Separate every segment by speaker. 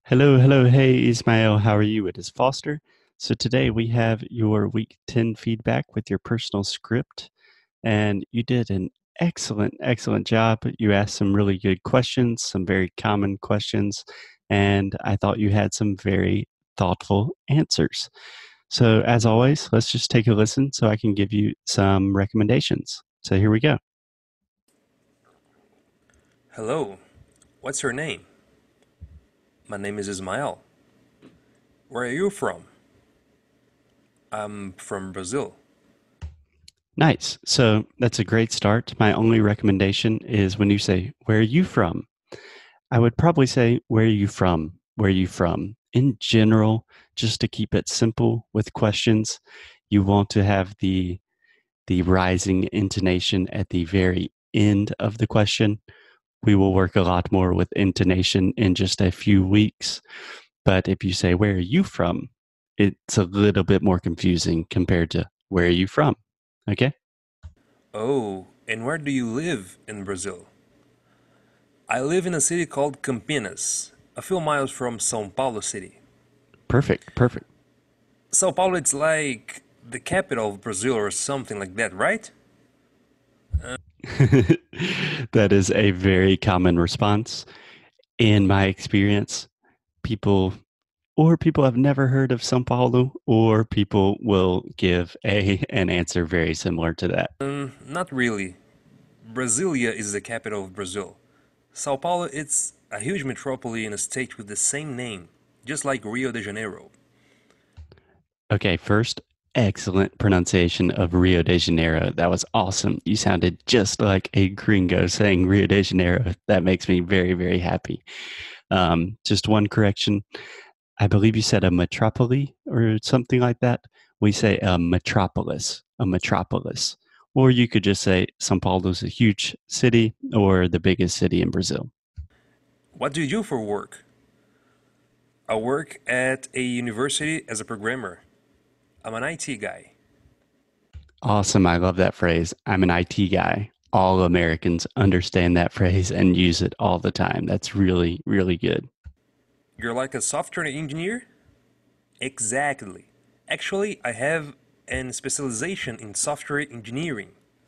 Speaker 1: Hello, hello. Hey, Ismail. How are you? It is Foster. So today we have your week 10 feedback with your personal script, and you did an excellent job. You asked some really good questions, some very common questions, and I thought you had some very thoughtful answers. So, as always, let's just take a listen so I can give you some recommendations. So, here we go.
Speaker 2: Hello, what's your name? My name is Ismael. Where are you from? I'm from Brazil.
Speaker 1: Nice. So, that's a great start. My only recommendation is when you say, "Where are you from?" I would probably say, "Where are you from? Where are you from?" In general, just to keep it simple with questions, you want to have the rising intonation at the very end of the question. We will work a lot more with intonation in just a few weeks. But if you say, "Where are you from?" it's a little bit more confusing compared to "Where are you from?" Okay?
Speaker 2: Oh, and where do you live in Brazil? I live in a city called Campinas, a few miles from São Paulo city.
Speaker 1: Perfect. Perfect.
Speaker 2: São Paulo, it's like the capital of Brazil or something like that, right?
Speaker 1: That is a very common response. In my experience, people have never heard of São Paulo, or people will give an answer very similar to that.
Speaker 2: Not really. Brasilia is the capital of Brazil. São Paulo, it's a huge metropole in a state with the same name, just like Rio de Janeiro.
Speaker 1: Okay, first, excellent pronunciation of Rio de Janeiro. That was awesome. You sounded just like a gringo saying Rio de Janeiro. That makes me very happy. Just one correction. I believe you said a metropole or something like that. We say a metropolis, a metropolis. Or you could just say Sao Paulo is a huge city or the biggest city in Brazil.
Speaker 2: What do you do for work? I work at a university as a programmer. I'm an IT guy.
Speaker 1: Awesome. I love that phrase. I'm an IT guy. All Americans understand that phrase and use it all the time. That's really good.
Speaker 2: You're like a software engineer? Exactly. Actually, I have an specialization in software engineering.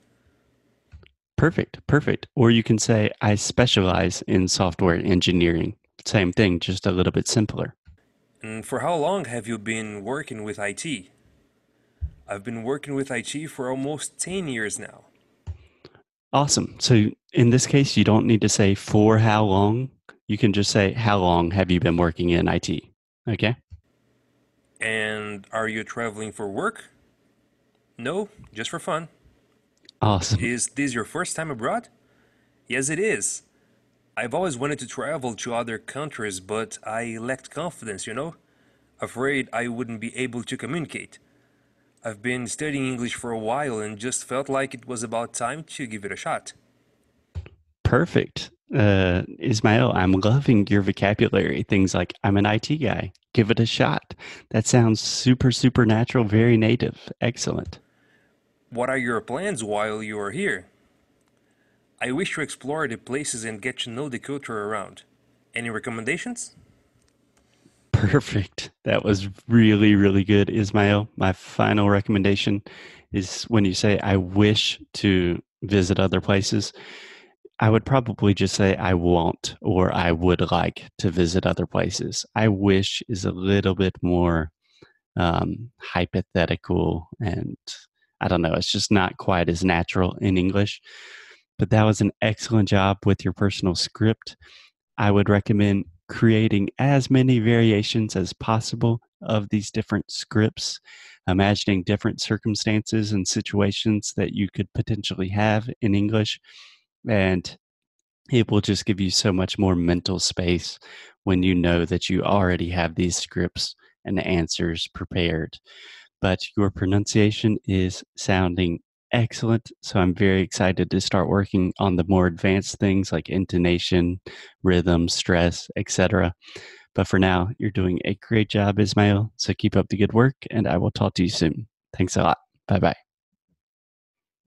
Speaker 1: Perfect. Or you can say, I specialize in software engineering. Same thing, just a little bit simpler.
Speaker 2: And for how long have you been working with IT? I've been working with IT for almost 10 years now.
Speaker 1: Awesome. So in this case, you don't need to say for how long. You can just say, how long have you been working in IT? Okay.
Speaker 2: And are you traveling for work? No, just for fun.
Speaker 1: Awesome.
Speaker 2: Is this your first time abroad? Yes, it is. I've always wanted to travel to other countries, but I lacked confidence, Afraid I wouldn't be able to communicate. I've been studying English for a while and just felt like it was about time to give it a shot.
Speaker 1: Perfect. Ismail, I'm loving your vocabulary. Things like, I'm an IT guy. Give it a shot. That sounds super natural, very native. Excellent.
Speaker 2: What are your plans while you are here? I wish to explore the places and get to know the culture around. Any recommendations?
Speaker 1: Perfect. That was really good, Ismail. My final recommendation is when you say, I wish to visit other places, I would probably just say, I want or I would like to visit other places. I wish is a little bit more hypothetical, and I don't know, it's just not quite as natural in English. But that was an excellent job with your personal script. I would recommend creating as many variations as possible of these different scripts, imagining different circumstances and situations that you could potentially have in English. And it will just give you so much more mental space when you know that you already have these scripts and answers prepared. But your pronunciation is sounding excellent. So I'm very excited to start working on the more advanced things like intonation, rhythm, stress, etc. But for now, you're doing a great job, Ismail. So keep up the good work, and I will talk to you soon. Thanks a lot. Bye bye.